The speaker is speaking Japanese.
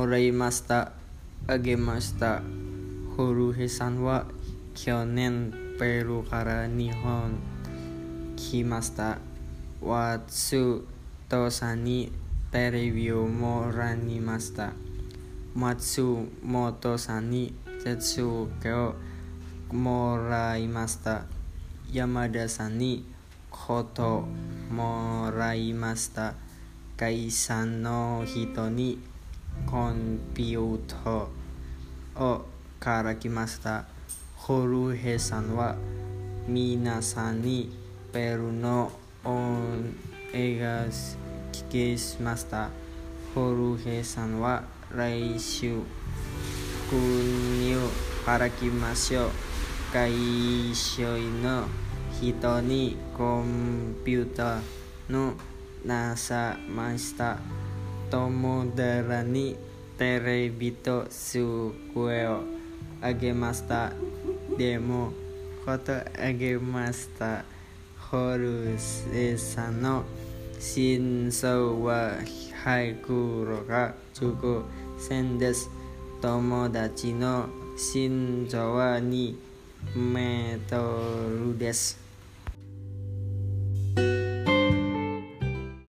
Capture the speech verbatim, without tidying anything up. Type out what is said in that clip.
もらいました。あげました。ホルヘさんは去年ペルーから日本来ました。ワツトさんにテレビをもらいました。松本さんに鉄道をもらいました。山田さんにこともらいました。会社の人にコンピューターをから来ました。ホルヘさんは皆さんにペルーの音楽聞きました。ホルヘさんは来週国から来ましょう。会社の人にコンピューターのなさました。友達にテレビと机をあげました。でもことあげました。ホルヘさんの心臓は入るが熟戦です。友達の心臓はにメートルです。